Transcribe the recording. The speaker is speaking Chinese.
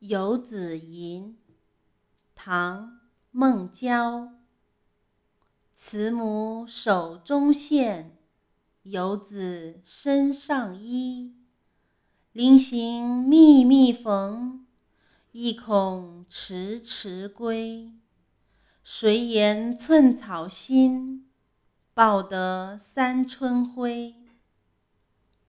游子吟，唐·孟郊。慈母手中线，游子身上衣。临行密密缝，意恐迟迟归。谁言寸草心，报得三春晖。